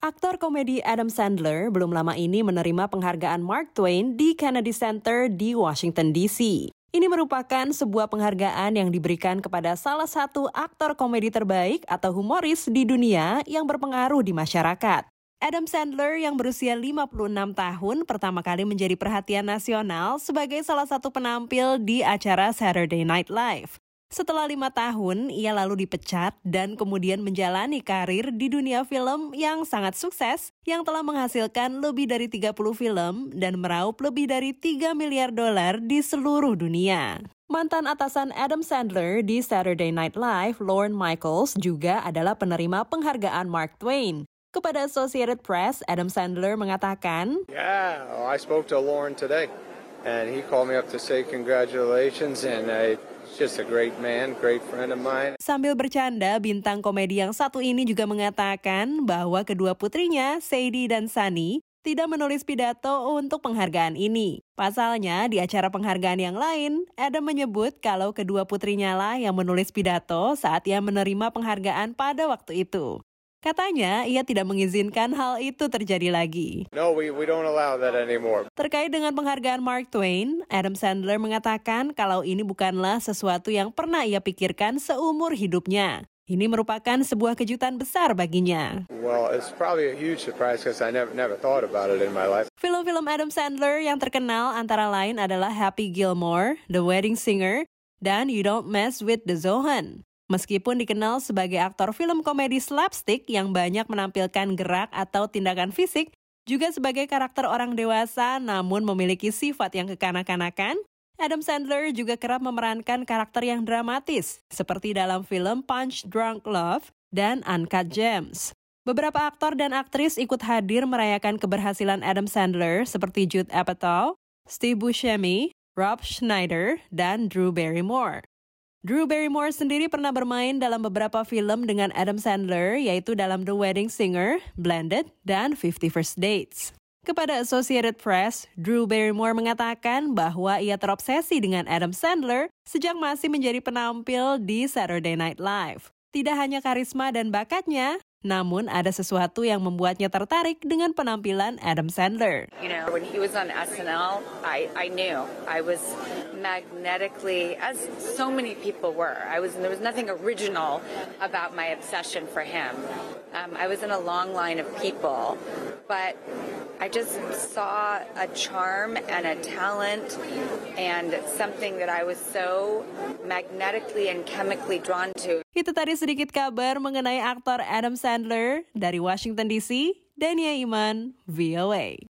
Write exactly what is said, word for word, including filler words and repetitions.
Aktor komedi Adam Sandler belum lama ini menerima penghargaan Mark Twain di Kennedy Center di Washington D C. Ini merupakan sebuah penghargaan yang diberikan kepada salah satu aktor komedi terbaik atau humoris di dunia yang berpengaruh di masyarakat. Adam Sandler yang berusia lima puluh enam tahun pertama kali menjadi perhatian nasional sebagai salah satu penampil di acara Saturday Night Live. Setelah lima tahun, ia lalu dipecat dan kemudian menjalani karir di dunia film yang sangat sukses yang telah menghasilkan lebih dari tiga puluh film dan meraup lebih dari tiga miliar dolar di seluruh dunia. Mantan atasan Adam Sandler di Saturday Night Live, Lorne Michaels, juga adalah penerima penghargaan Mark Twain. Kepada Associated Press, Adam Sandler mengatakan, Yeah, well, I spoke to Lorne today and he called me up to say congratulations and I... just a great man, great friend of mine. Sambil bercanda, bintang komedi yang satu ini juga mengatakan bahwa kedua putrinya, Sadie dan Sunny, tidak menulis pidato untuk penghargaan ini. Pasalnya, di acara penghargaan yang lain, Adam menyebut kalau kedua putrinya lah yang menulis pidato saat ia menerima penghargaan pada waktu itu. Katanya, ia tidak mengizinkan hal itu terjadi lagi. No, we, we don't allow that anymore. Terkait dengan penghargaan Mark Twain, Adam Sandler mengatakan kalau ini bukanlah sesuatu yang pernah ia pikirkan seumur hidupnya. Ini merupakan sebuah kejutan besar baginya. Well, it's probably a huge surprise because I never never thought about it in my life. Film-film Adam Sandler yang terkenal antara lain adalah Happy Gilmore, The Wedding Singer, dan You Don't Mess with the Zohan. Meskipun dikenal sebagai aktor film komedi slapstick yang banyak menampilkan gerak atau tindakan fisik, juga sebagai karakter orang dewasa namun memiliki sifat yang kekanak-kanakan, Adam Sandler juga kerap memerankan karakter yang dramatis, seperti dalam film Punch Drunk Love dan Uncut Gems. Beberapa aktor dan aktris ikut hadir merayakan keberhasilan Adam Sandler seperti Judd Apatow, Steve Buscemi, Rob Schneider, dan Drew Barrymore. Drew Barrymore sendiri pernah bermain dalam beberapa film dengan Adam Sandler, yaitu dalam The Wedding Singer, Blended, dan fifty First Dates. Kepada Associated Press, Drew Barrymore mengatakan bahwa ia terobsesi dengan Adam Sandler sejak masih menjadi penampil di Saturday Night Live. Tidak hanya karisma dan bakatnya, namun ada sesuatu yang membuatnya tertarik dengan penampilan Adam Sandler. You know, when he was on S N L, I, I knew I was magnetically, as so many people were. I was there was nothing original about my obsession for him. Um, I was in a long line of people, but I just saw a charm and a talent and something that I was so magnetically and chemically drawn to. Itu tadi sedikit kabar mengenai aktor Adam Sandler dari Washington D C, Dania Iman, V O A.